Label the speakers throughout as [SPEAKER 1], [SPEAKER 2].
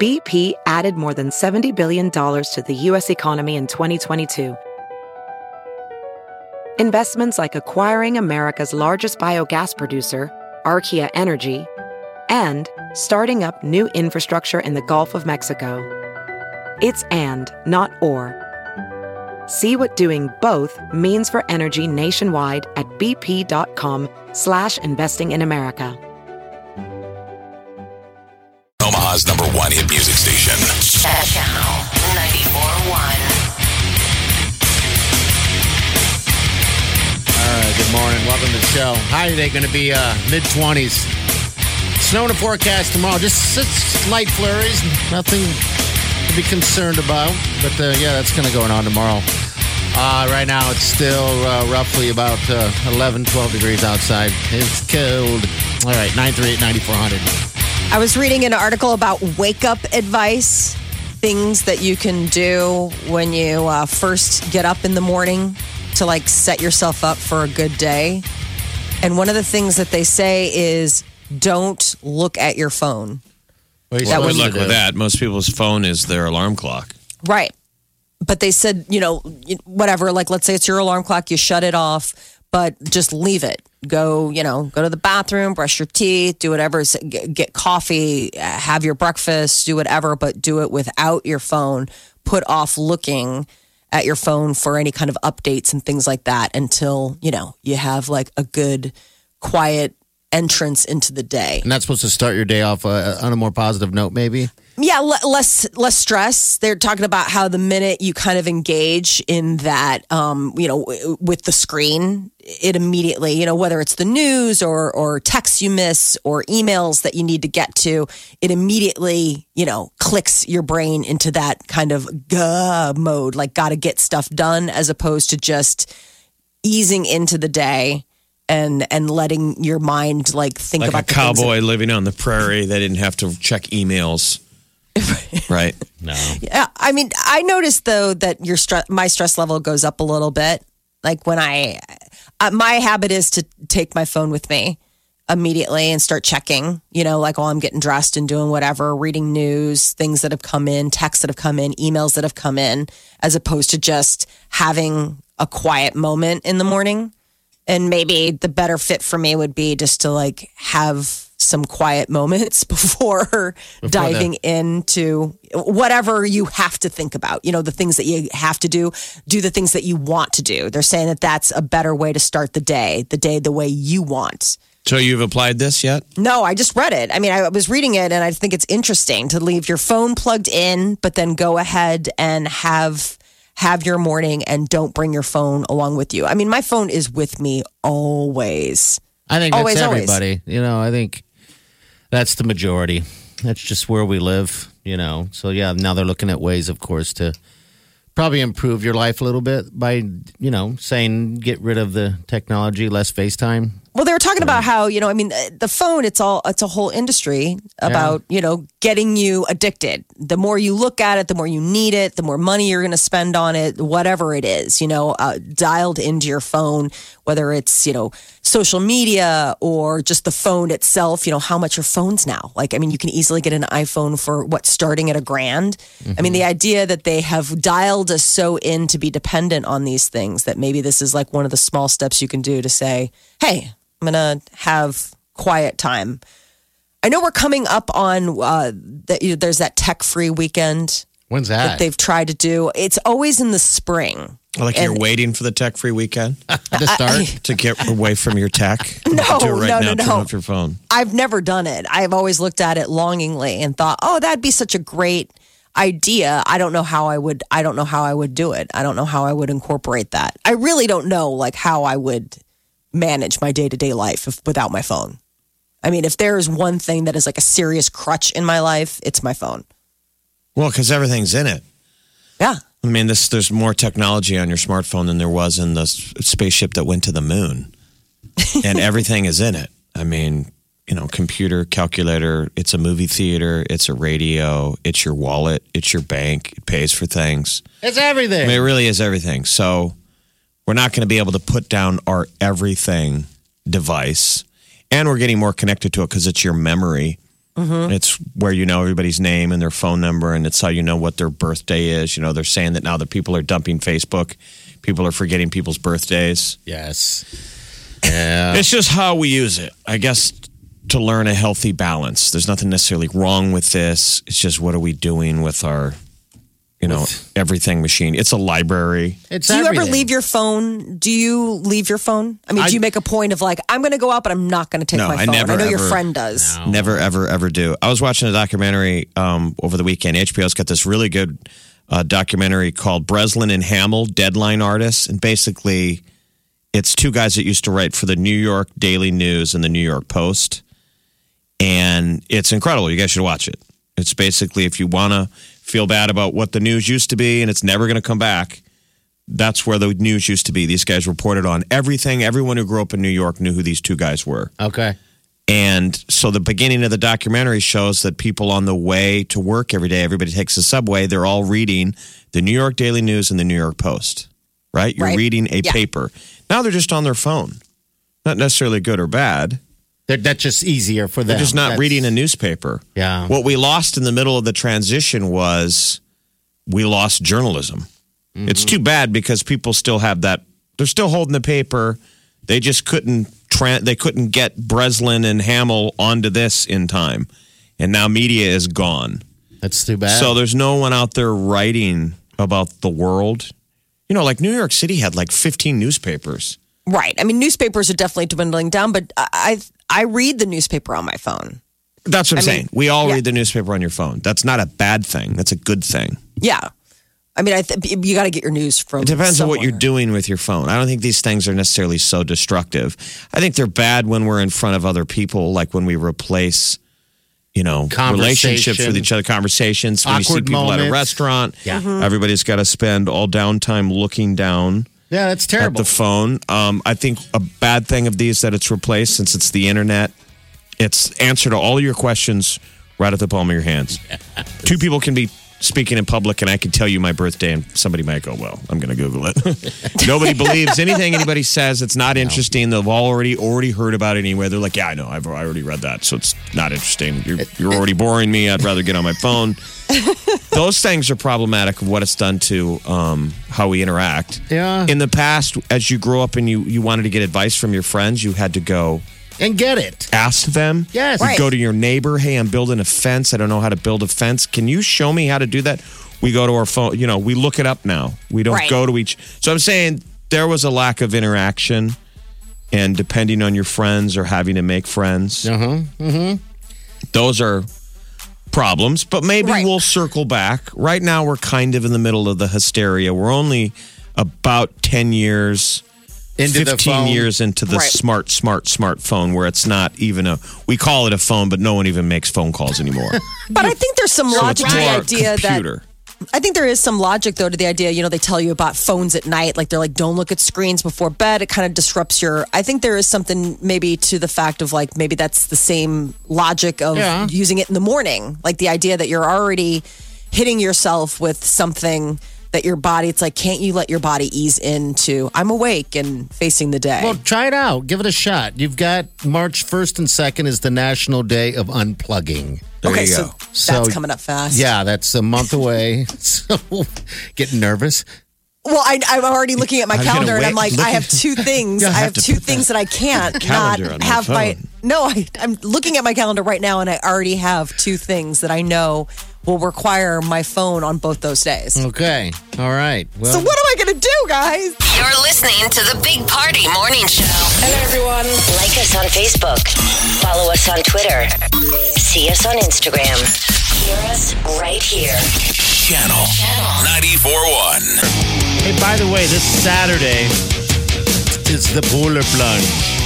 [SPEAKER 1] BP added more than $70 billion to the U.S. economy in 2022. Investments like acquiring America's largest biogas producer, Archaea Energy, and starting up new infrastructure in the Gulf of Mexico. It's and, not or. See what doing both means for energy nationwide at bp.com/investing in America.
[SPEAKER 2] Omaha's number one hit music station.
[SPEAKER 3] Channel 94.1.
[SPEAKER 4] All right, good morning. Welcome to the show. High today going to be mid-20s. Snow in the forecast tomorrow. Just slight flurries. Nothing to be concerned about. But, yeah, that's kind of going on tomorrow. Right now, it's still roughly about 11, 12 degrees outside. It's cold. All right, 938-9400.
[SPEAKER 5] I was reading an article about wake-up advice, things that you can do when you first get up in the morning to, like, set yourself up for a good day. And one of the things that they say is don't look at your phone.
[SPEAKER 6] Good luck with that. Most people's phone is their alarm clock.
[SPEAKER 5] Right. But they said, whatever, like, let's say it's your alarm clock, you shut it off, but just leave it. Go to the bathroom, brush your teeth, do whatever, get coffee, have your breakfast, do whatever, but do it without your phone. Put off looking at your phone for any kind of updates and things like that until, you have like a good, quiet entrance into the day.
[SPEAKER 4] And that's supposed to start your day off on a more positive note, maybe?
[SPEAKER 5] Yeah, less stress. They're talking about how the minute you kind of engage in that, with the screen, it immediately, whether it's the news or texts you miss or emails that you need to get to, it immediately, clicks your brain into that kind of mode, like got to get stuff done, as opposed to just easing into the day. And letting your mind like think
[SPEAKER 6] like
[SPEAKER 5] about
[SPEAKER 6] a cowboy living on the prairie. They didn't have to check emails, right?
[SPEAKER 4] No.
[SPEAKER 5] Yeah, I mean, I noticed though that my stress level goes up a little bit. Like when my habit is to take my phone with me immediately and start checking. Like while I'm getting dressed and doing whatever, reading news, things that have come in, texts that have come in, emails that have come in, as opposed to just having a quiet moment in the morning. And maybe the better fit for me would be just to like have some quiet moments before diving into whatever you have to think about. The things that you have to do the things that you want to do. They're saying that that's a better way to start the day the way you want.
[SPEAKER 6] So you've applied this yet?
[SPEAKER 5] No, I just read it. I mean, I was reading it and I think it's interesting to leave your phone plugged in, but then go ahead and have your morning and don't bring your phone along with you. I mean, my phone is with me always.
[SPEAKER 4] I think that's
[SPEAKER 5] always,
[SPEAKER 4] everybody. I think that's the majority. That's just where we live, So, yeah, now they're looking at ways, of course, to probably improve your life a little bit by, saying get rid of the technology, less FaceTime.
[SPEAKER 5] Well, they were talking about how, the phone, it's a whole industry about, getting you addicted. The more you look at it, the more you need it, the more money you're going to spend on it, whatever it is, dialed into your phone, whether it's, social media or just the phone itself, how much are phones now? Like, I mean, you can easily get an iPhone for starting at $1,000. Mm-hmm. I mean, the idea that they have dialed us so in to be dependent on these things that maybe this is like one of the small steps you can do to say, hey, I'm going to have quiet time. I know we're coming up on there's that tech-free weekend.
[SPEAKER 4] When's that?
[SPEAKER 5] They've tried to do. It's always in the spring.
[SPEAKER 6] Like you're waiting for the tech-free weekend
[SPEAKER 4] to start?
[SPEAKER 6] To get away from your tech?
[SPEAKER 5] No,
[SPEAKER 6] do it right now.
[SPEAKER 5] no.
[SPEAKER 6] Turn off your phone.
[SPEAKER 5] I've never done it. I've always looked at it longingly and thought, oh, that'd be such a great idea. I don't know how I would do it. I don't know how I would incorporate that. I really don't know like how I would manage my day-to-day life without my phone. I mean, if there is one thing that is like a serious crutch in my life, it's my phone.
[SPEAKER 6] Well, because everything's in it.
[SPEAKER 5] Yeah.
[SPEAKER 6] I mean, there's more technology on your smartphone than there was in the spaceship that went to the moon. And everything is in it. I mean, computer, calculator, it's a movie theater, it's a radio, it's your wallet, it's your bank, it pays for things.
[SPEAKER 4] It's everything.
[SPEAKER 6] I mean, it really is everything. So we're not going to be able to put down our everything device. And we're getting more connected to it because it's your memory. It's where you know everybody's name and their phone number, and it's how you know what their birthday is. You know, they're saying that now that people are dumping Facebook. People are forgetting people's birthdays.
[SPEAKER 4] Yes. Yeah.
[SPEAKER 6] It's just how we use it. I guess to learn a healthy balance. There's nothing necessarily wrong with this. It's just what are we doing with our, everything machine? It's a library.
[SPEAKER 4] It's
[SPEAKER 5] Do you
[SPEAKER 4] everything.
[SPEAKER 5] ever leave your phone? Do you leave your phone? I mean, do you make a point of like, I'm going to go out, but I'm not going to take
[SPEAKER 6] No,
[SPEAKER 5] my
[SPEAKER 6] I
[SPEAKER 5] phone?
[SPEAKER 6] never,
[SPEAKER 5] I know your
[SPEAKER 6] ever-
[SPEAKER 5] friend does.
[SPEAKER 4] No.
[SPEAKER 6] Never, ever, ever do. I was watching a documentary over the weekend. HBO's got this really good documentary called Breslin and Hamill, Deadline Artists. And basically, it's two guys that used to write for the New York Daily News and the New York Post. And it's incredible. You guys should watch it. It's basically if you want to feel bad about what the news used to be and it's never going to come back, that's where the news used to be. These guys reported on everything. Everyone who grew up in New York knew who these two guys were.
[SPEAKER 4] Okay.
[SPEAKER 6] And so the beginning of the documentary shows that people on the way to work every day, everybody takes the subway, they're all reading the New York Daily News and the New York Post, right? You're
[SPEAKER 5] Right.
[SPEAKER 6] reading a
[SPEAKER 5] Yeah.
[SPEAKER 6] paper. Now they're just on their phone. Not necessarily good or bad.
[SPEAKER 4] That's just easier for them.
[SPEAKER 6] They're just not
[SPEAKER 4] That's-
[SPEAKER 6] reading a newspaper.
[SPEAKER 4] Yeah.
[SPEAKER 6] What we lost in the middle of the transition was we lost journalism. It's too bad because people still have that. They're still holding the paper. They just couldn't get Breslin and Hamill onto this in time. And now media is gone.
[SPEAKER 4] That's too bad.
[SPEAKER 6] So there's no one out there writing about the world. You know, like New York City had like 15 newspapers.
[SPEAKER 5] Right. I mean, newspapers are definitely dwindling down, but I read the newspaper on my phone.
[SPEAKER 6] That's what I'm
[SPEAKER 5] I mean,
[SPEAKER 6] saying. We all
[SPEAKER 5] yeah.
[SPEAKER 6] read the newspaper on your phone. That's not a bad thing. That's a good thing.
[SPEAKER 5] Yeah. I mean, you got to get your news from
[SPEAKER 6] It depends on what you're
[SPEAKER 5] somewhere.
[SPEAKER 6] doing with your phone. I don't think these things are necessarily so destructive. I think they're bad when we're in front of other people, like when we replace, relationships with each other, conversations. When you see
[SPEAKER 4] Awkward
[SPEAKER 6] people at a
[SPEAKER 4] moments.
[SPEAKER 6] restaurant,
[SPEAKER 4] Yeah. Mhm.
[SPEAKER 6] everybody's got to spend all downtime looking down
[SPEAKER 4] yeah, that's
[SPEAKER 6] at
[SPEAKER 4] terrible.
[SPEAKER 6] the phone. I think a bad thing of these that it's replaced since it's the internet. It's answer to all your questions right at the palm of your hands. Two people can be speaking in public and I can tell you my birthday and somebody might go, well, I'm going to Google it. Nobody believes anything anybody says. It's not interesting. They've already heard about it anyway. They're like, yeah, I know. I already read that. So it's not interesting. You're already boring me. I'd rather get on my phone. Those things are problematic of what it's done to how we interact.
[SPEAKER 4] Yeah.
[SPEAKER 6] In the past, as you grew up and you wanted to get advice from your friends, you had to go
[SPEAKER 4] and get it.
[SPEAKER 6] ask them.
[SPEAKER 4] Yes.
[SPEAKER 6] You
[SPEAKER 4] Right.
[SPEAKER 6] go to your neighbor. Hey, I'm building a fence. I don't know how to build a fence. Can you show me how to do that? We go to our phone. We look it up now. We don't
[SPEAKER 5] Right.
[SPEAKER 6] go to each. So I'm saying there was a lack of interaction, and depending on your friends or having to make friends, those are problems. But maybe
[SPEAKER 5] Right.
[SPEAKER 6] we'll circle back. Right now, we're kind of in the middle of the hysteria. We're only about 10 years.
[SPEAKER 4] Into the
[SPEAKER 6] 15
[SPEAKER 4] phone.
[SPEAKER 6] years into the
[SPEAKER 5] Right.
[SPEAKER 6] smartphone where it's not even we call it a phone, but no one even makes phone calls anymore.
[SPEAKER 5] But I think there's some
[SPEAKER 6] So it's
[SPEAKER 5] logic to the
[SPEAKER 6] more
[SPEAKER 5] idea
[SPEAKER 6] computer.
[SPEAKER 5] I think there is some logic though to the idea, they tell you about phones at night, like they're like, don't look at screens before bed. It kind of disrupts I think there is something maybe to the fact of like, maybe that's the same logic of
[SPEAKER 4] Yeah.
[SPEAKER 5] using it in the morning. Like the idea that you're already hitting yourself with something that your body, it's like, can't you let your body ease into, I'm awake and facing the day.
[SPEAKER 4] Well, try it out. Give it a shot. You've got March 1st and 2nd is the National Day of Unplugging.
[SPEAKER 6] There
[SPEAKER 5] okay,
[SPEAKER 6] you
[SPEAKER 5] so
[SPEAKER 6] go.
[SPEAKER 5] that's
[SPEAKER 4] So-
[SPEAKER 5] coming up fast.
[SPEAKER 4] Yeah, that's a month away. So getting nervous.
[SPEAKER 5] Well, I'm already looking at my
[SPEAKER 6] I'm gonna
[SPEAKER 5] calendar and I'm
[SPEAKER 6] wait-
[SPEAKER 5] like,
[SPEAKER 6] look
[SPEAKER 5] I have
[SPEAKER 6] at-
[SPEAKER 5] two things.
[SPEAKER 6] Yeah, I
[SPEAKER 5] I
[SPEAKER 6] have
[SPEAKER 5] have
[SPEAKER 6] to
[SPEAKER 5] two
[SPEAKER 6] put
[SPEAKER 5] things that I can't not
[SPEAKER 6] calendar on my
[SPEAKER 5] have my.
[SPEAKER 6] phone.
[SPEAKER 5] No, I'm looking at my calendar right now and I already have two things that I know will require my phone on both those days.
[SPEAKER 4] Okay. All right. Well,
[SPEAKER 5] So what am I going to do, guys?
[SPEAKER 3] You're listening to the Big Party Morning Show.
[SPEAKER 7] Hello, everyone.
[SPEAKER 3] Like us on Facebook. Follow us on Twitter. See us on Instagram. Hear us right here.
[SPEAKER 2] Channel 94.1.
[SPEAKER 4] hey, by the way, this Saturday is the Polar Plunge.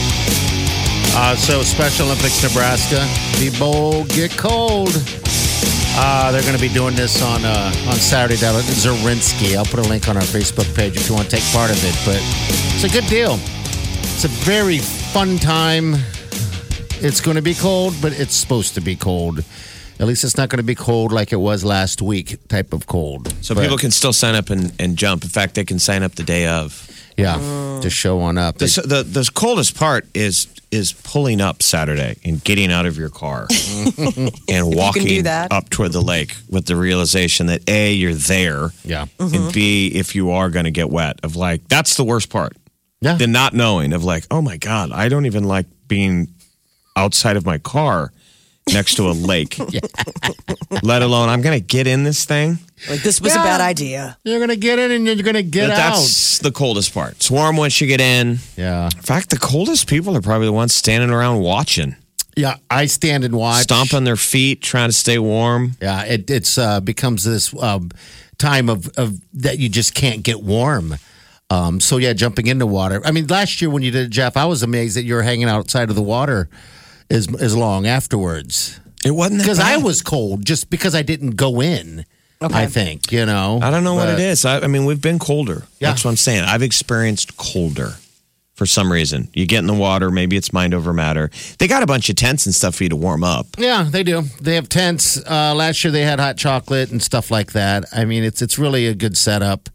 [SPEAKER 4] So Special Olympics Nebraska. Be bold, get cold. They're going to be doing this on Saturday down at Zorinsky. I'll put a link on our Facebook page if you want to take part of it. But it's a good deal. It's a very fun time. It's going to be cold, but it's supposed to be cold. At least it's not going to be cold like it was last week type of cold.
[SPEAKER 6] So
[SPEAKER 4] But-
[SPEAKER 6] people can still sign up and jump. In fact, they can sign up the day of.
[SPEAKER 4] just show on up.
[SPEAKER 6] The coldest part is pulling up Saturday and getting out of your car and walking up toward the lake with the realization that A, you're there, and B, if you are going to get wet, of like, that's the worst part.
[SPEAKER 4] Yeah.
[SPEAKER 6] The not knowing of like, oh my God, I don't even like being outside of my car next to a lake, let alone I'm going to get in this thing.
[SPEAKER 5] Like, this was a bad idea.
[SPEAKER 4] You're going to get in and you're going to get out.
[SPEAKER 6] That's the coldest part. It's warm once you get in.
[SPEAKER 4] Yeah.
[SPEAKER 6] In fact, the coldest people are probably the ones standing around watching.
[SPEAKER 4] Yeah, I stand and watch.
[SPEAKER 6] Stomping their feet, trying to stay warm.
[SPEAKER 4] Yeah, it's becomes this time of that you just can't get warm. So, jumping into water. I mean, last year when you did it, Jeff, I was amazed that you were hanging outside of the water as long afterwards.
[SPEAKER 6] It wasn't that
[SPEAKER 4] because
[SPEAKER 6] bad.
[SPEAKER 4] I was cold just because I didn't go in. Okay. I think, I
[SPEAKER 6] don't know what it is. I mean, we've been colder.
[SPEAKER 4] Yeah.
[SPEAKER 6] That's what I'm saying. I've experienced colder for some reason. You get in the water, maybe it's mind over matter. They got a bunch of tents and stuff for you to warm up.
[SPEAKER 4] Yeah, they do. They have tents. Last year they had hot chocolate and stuff like that. I mean, it's really a good setup.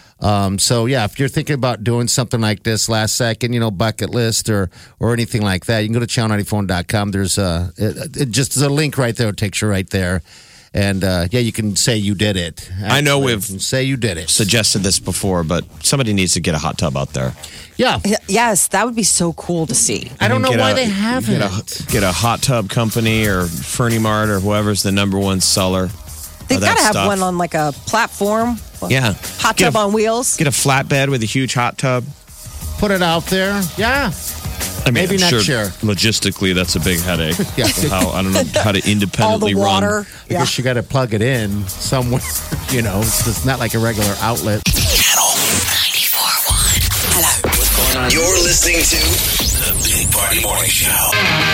[SPEAKER 4] If you're thinking about doing something like this last second, bucket list or anything like that, you can go to channel94.com. There's there's a link right there. It takes you right there. And, you can say you did it. Actually,
[SPEAKER 6] I know we've
[SPEAKER 4] say you did it.
[SPEAKER 6] Suggested this before, but somebody needs to get a hot tub out there.
[SPEAKER 4] Yeah.
[SPEAKER 5] Yes, that would be so cool to see.
[SPEAKER 4] I don't know why they haven't.
[SPEAKER 6] Get a hot tub company or Fernie Mart or whoever's the number one seller.
[SPEAKER 5] They've got to have one on like a platform.
[SPEAKER 6] Yeah.
[SPEAKER 5] Hot tub on wheels.
[SPEAKER 6] Get a flatbed with a huge hot tub.
[SPEAKER 4] Put it out there. Yeah.
[SPEAKER 6] I mean,
[SPEAKER 4] maybe next year.
[SPEAKER 6] Logistically, that's a big headache.
[SPEAKER 4] Yeah.
[SPEAKER 6] I don't know how to independently
[SPEAKER 5] all the water.
[SPEAKER 6] run.
[SPEAKER 4] I guess you got to plug it in somewhere. It's not like a regular outlet.
[SPEAKER 2] Channel
[SPEAKER 3] 94.1. Hello.
[SPEAKER 2] What's going on? You're listening to the Big Party Morning Show.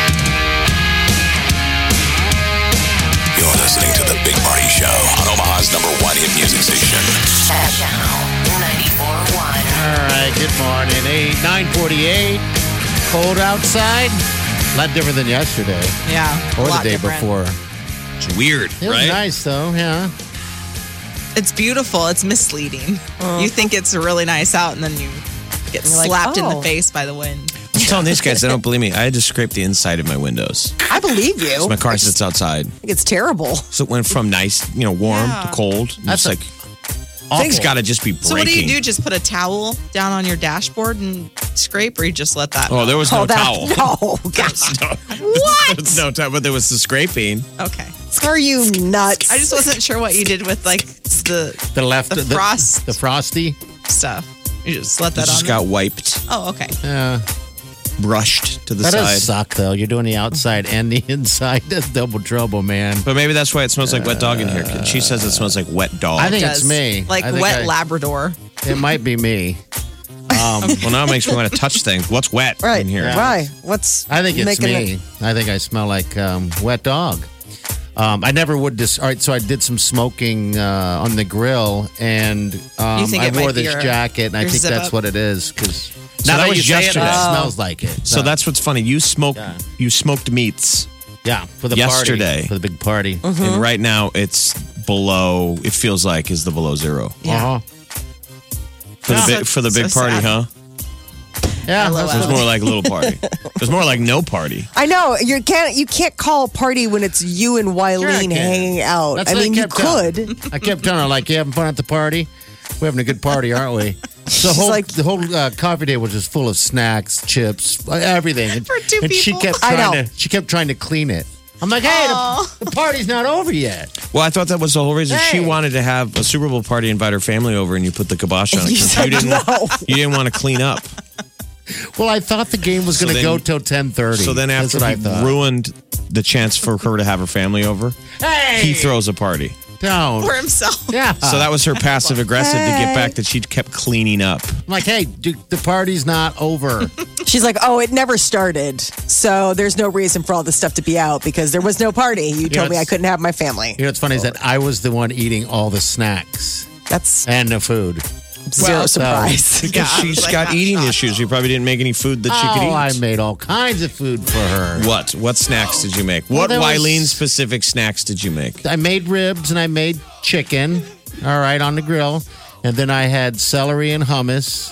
[SPEAKER 2] You're listening to the Big Party Show on Omaha's #1 hit music station.
[SPEAKER 3] Channel 94.1.
[SPEAKER 4] All right, good morning. 9:48. Cold outside. A lot different than yesterday.
[SPEAKER 7] Yeah.
[SPEAKER 4] Or the day before.
[SPEAKER 6] It's weird,
[SPEAKER 4] It was
[SPEAKER 6] right?
[SPEAKER 4] nice, though, yeah.
[SPEAKER 7] It's beautiful. It's misleading. You think it's really nice out, and then you get slapped in the face by the wind.
[SPEAKER 6] I'm telling these guys, they don't believe me. I had to scrape the inside of my windows.
[SPEAKER 5] I believe you.
[SPEAKER 6] My car sits outside.
[SPEAKER 5] I think it's terrible.
[SPEAKER 6] So it went from nice, warm to cold.
[SPEAKER 4] That's
[SPEAKER 6] like things got to just be breaking.
[SPEAKER 7] So what do you do? Just put a towel down on your dashboard and scrape, or you just let that?
[SPEAKER 6] Oh, there was no towel.
[SPEAKER 5] No, gosh.
[SPEAKER 6] What? There was no towel, but there was the scraping.
[SPEAKER 7] Okay.
[SPEAKER 5] Are you nuts?
[SPEAKER 7] I just wasn't sure what you did with like the frost
[SPEAKER 4] the frosty
[SPEAKER 7] stuff. You just let that
[SPEAKER 6] It
[SPEAKER 7] on.
[SPEAKER 6] just got wiped,
[SPEAKER 7] Oh, okay.
[SPEAKER 6] brushed to the
[SPEAKER 4] That
[SPEAKER 6] side.
[SPEAKER 4] does suck, though. You're doing the outside and the inside. That's double trouble, man.
[SPEAKER 6] But maybe that's why it smells like wet dog in here. She says it smells like wet dog.
[SPEAKER 4] I think
[SPEAKER 7] Does.
[SPEAKER 4] it's me.
[SPEAKER 7] Like
[SPEAKER 4] I think
[SPEAKER 7] wet Labrador.
[SPEAKER 4] It might be me.
[SPEAKER 6] well, now it makes me want to touch things. What's wet
[SPEAKER 5] Right.
[SPEAKER 6] in here?
[SPEAKER 4] Yeah.
[SPEAKER 5] Why? What's
[SPEAKER 4] I think it's
[SPEAKER 5] making
[SPEAKER 4] me.
[SPEAKER 5] it-
[SPEAKER 4] I think I smell like wet dog. I never would. All right, so I did some smoking on the grill, and
[SPEAKER 7] You think
[SPEAKER 4] I
[SPEAKER 7] it might
[SPEAKER 4] wore
[SPEAKER 7] be
[SPEAKER 4] this
[SPEAKER 7] your-
[SPEAKER 4] jacket, and I
[SPEAKER 7] your
[SPEAKER 4] think
[SPEAKER 7] zip
[SPEAKER 4] that's
[SPEAKER 7] up?
[SPEAKER 4] what it is. Because
[SPEAKER 6] So
[SPEAKER 4] now
[SPEAKER 6] that
[SPEAKER 4] that
[SPEAKER 6] was
[SPEAKER 4] you say it,
[SPEAKER 6] yesterday.
[SPEAKER 4] it smells like it.
[SPEAKER 6] So that's what's funny. You smoked meats,
[SPEAKER 4] yeah for the
[SPEAKER 6] yesterday.
[SPEAKER 4] party, for the big party.
[SPEAKER 6] and right now it's below. It feels like is the below zero
[SPEAKER 4] Yeah,
[SPEAKER 6] for the big
[SPEAKER 7] so
[SPEAKER 6] party,
[SPEAKER 7] sad.
[SPEAKER 6] huh?
[SPEAKER 4] yeah.
[SPEAKER 7] LOL.
[SPEAKER 4] That's
[SPEAKER 6] It was more like a little party. It was more like no party.
[SPEAKER 5] I know you can't call a party when it's you and
[SPEAKER 4] Sure I
[SPEAKER 5] Wileen
[SPEAKER 4] can.
[SPEAKER 5] hanging out.
[SPEAKER 4] That's
[SPEAKER 5] I
[SPEAKER 4] what I
[SPEAKER 5] mean, you
[SPEAKER 4] kept telling
[SPEAKER 5] could.
[SPEAKER 4] I kept telling her, like, you having fun at the party? We're having a good party, aren't we? So the whole coffee day was just full of snacks, chips, everything. And,
[SPEAKER 7] For two
[SPEAKER 4] and she
[SPEAKER 7] people.
[SPEAKER 4] kept
[SPEAKER 5] I
[SPEAKER 4] trying
[SPEAKER 5] know.
[SPEAKER 4] to. She kept trying to clean it. I'm like, hey, the party's not over yet.
[SPEAKER 6] Well, I thought that was the whole reason she
[SPEAKER 5] Hey.
[SPEAKER 6] wanted to have a Super Bowl party, invite her family over, and you put the kibosh on it. 'cause you didn't want to clean up.
[SPEAKER 4] Well, I thought the game was
[SPEAKER 6] So
[SPEAKER 4] going to
[SPEAKER 6] then-
[SPEAKER 4] go till 10:30.
[SPEAKER 6] So then
[SPEAKER 4] That's
[SPEAKER 6] after
[SPEAKER 4] what I
[SPEAKER 6] he
[SPEAKER 4] thought.
[SPEAKER 6] ruined the chance for her to have her family over,
[SPEAKER 4] Hey,
[SPEAKER 6] he throws a party.
[SPEAKER 4] down.
[SPEAKER 7] For himself.
[SPEAKER 4] Yeah.
[SPEAKER 6] So that was her passive aggressive to get back that she kept cleaning up.
[SPEAKER 4] I'm like, hey, dude, the party's not over.
[SPEAKER 5] She's like, oh, it never started. So there's no reason for all this stuff to be out because there was no party. You told me I
[SPEAKER 4] it's-
[SPEAKER 5] couldn't have my family.
[SPEAKER 4] You know what's funny is that I was the one eating all the snacks
[SPEAKER 5] That's
[SPEAKER 4] and the food.
[SPEAKER 5] zero surprise.
[SPEAKER 6] Because
[SPEAKER 7] Yeah, I
[SPEAKER 6] she's
[SPEAKER 7] was like,
[SPEAKER 6] got
[SPEAKER 7] not
[SPEAKER 6] eating
[SPEAKER 7] shocked.
[SPEAKER 6] issues. You probably didn't make any food that she could eat.
[SPEAKER 4] I made all kinds of food for her.
[SPEAKER 6] What? What snacks did you make?
[SPEAKER 4] Well,
[SPEAKER 6] What
[SPEAKER 4] there was-
[SPEAKER 6] Wileen specific snacks did you make?
[SPEAKER 4] I made ribs and I made chicken, all right, on the grill. And then I had celery and hummus.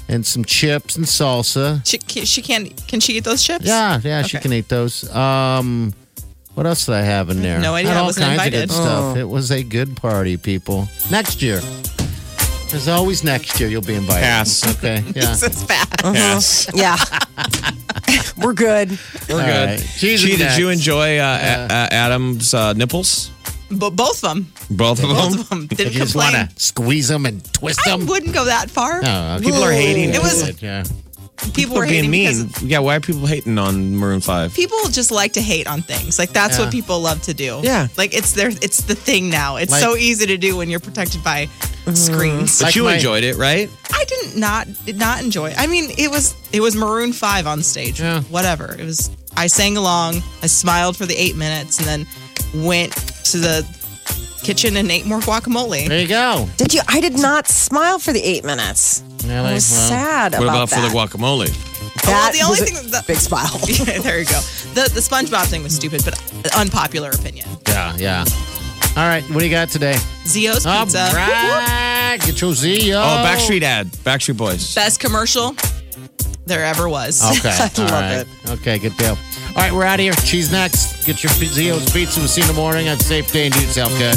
[SPEAKER 4] and some chips and salsa.
[SPEAKER 7] She can she eat those chips?
[SPEAKER 4] Yeah, she can eat those. What else did I have in there?
[SPEAKER 7] No idea.
[SPEAKER 4] Had
[SPEAKER 7] I
[SPEAKER 4] all
[SPEAKER 7] wasn't
[SPEAKER 4] kinds
[SPEAKER 7] invited.
[SPEAKER 4] of good stuff. It was a good party, people. Next year. There's always next year you'll be invited.
[SPEAKER 6] Pass.
[SPEAKER 4] Okay, yeah.
[SPEAKER 7] It's fast.
[SPEAKER 6] Yes.
[SPEAKER 5] Yeah. We're good.
[SPEAKER 6] We're
[SPEAKER 4] All
[SPEAKER 6] good.
[SPEAKER 4] right. Cheese
[SPEAKER 6] Gee,
[SPEAKER 4] and
[SPEAKER 6] did you
[SPEAKER 4] next.
[SPEAKER 6] enjoy Adam's nipples?
[SPEAKER 7] But both of them.
[SPEAKER 6] Both of them?
[SPEAKER 7] Both of them.
[SPEAKER 4] Did
[SPEAKER 7] Didn't
[SPEAKER 4] you just want
[SPEAKER 7] complain.
[SPEAKER 4] to squeeze them and twist
[SPEAKER 7] I
[SPEAKER 4] them?
[SPEAKER 7] wouldn't go that far.
[SPEAKER 4] No,
[SPEAKER 6] People are hating.
[SPEAKER 7] It was-
[SPEAKER 4] Yeah.
[SPEAKER 7] People were
[SPEAKER 6] being
[SPEAKER 7] hating
[SPEAKER 6] mean.
[SPEAKER 7] because
[SPEAKER 6] Yeah, why are people hating on Maroon 5?
[SPEAKER 7] people just like to hate on things. Like that's
[SPEAKER 4] Yeah.
[SPEAKER 7] what people love to do.
[SPEAKER 6] Yeah.
[SPEAKER 7] Like it's the thing now. It's
[SPEAKER 4] Like-
[SPEAKER 7] so easy to do when you're protected by screens.
[SPEAKER 6] But
[SPEAKER 4] Like
[SPEAKER 6] you
[SPEAKER 4] my-
[SPEAKER 6] enjoyed it, right?
[SPEAKER 7] I did not enjoy it. I mean, it was Maroon 5 on stage.
[SPEAKER 4] Yeah.
[SPEAKER 7] Whatever. It was I sang along, I smiled for the 8 minutes and then went to the kitchen and ate more guacamole.
[SPEAKER 4] There you go.
[SPEAKER 5] Did you? I did not smile for the 8 minutes.
[SPEAKER 4] Really?
[SPEAKER 5] I was
[SPEAKER 4] Well,
[SPEAKER 5] sad
[SPEAKER 6] What about
[SPEAKER 5] that.
[SPEAKER 6] for the guacamole?
[SPEAKER 5] That
[SPEAKER 7] the only
[SPEAKER 5] was
[SPEAKER 7] thing
[SPEAKER 5] a
[SPEAKER 7] that-
[SPEAKER 5] big smile.
[SPEAKER 7] Yeah, there you go. The SpongeBob thing was stupid, but unpopular opinion.
[SPEAKER 4] Yeah. All right, what do you got today?
[SPEAKER 7] Zio's
[SPEAKER 4] All
[SPEAKER 7] Pizza.
[SPEAKER 4] right, get your Zio.
[SPEAKER 6] Oh, Backstreet ad. Backstreet Boys.
[SPEAKER 7] Best commercial there ever was.
[SPEAKER 4] Okay.
[SPEAKER 5] I love
[SPEAKER 4] All right.
[SPEAKER 5] it.
[SPEAKER 4] Okay, good deal. All right, we're out of here. Cheese next. Get your Zio's Pizza. We'll see you in the morning. Have a safe day and do yourself good.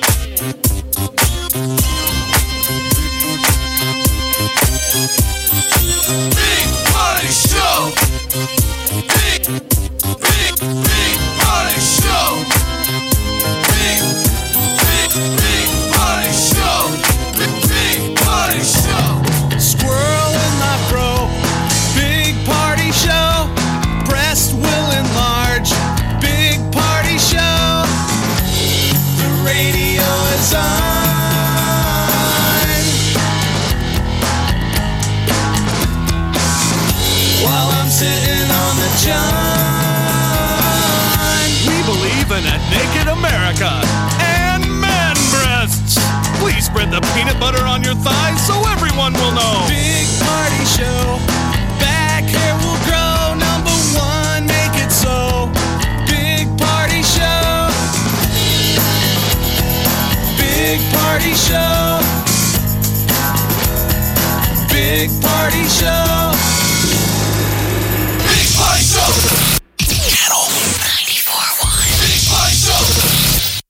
[SPEAKER 2] Big Party Show. Big Party Show. Big Party Show. Big Party Show.
[SPEAKER 8] Squirrel in my fro. Big party show. Breast will enlarge. Big party show. The radio is on. While I'm sitting on the john. We believe in a naked America and man breasts. Please spread the peanut butter on your thighs so everyone will know. Big party show. Back hair will grow. Number one, make it so. Big party show. Big party show. Big party show.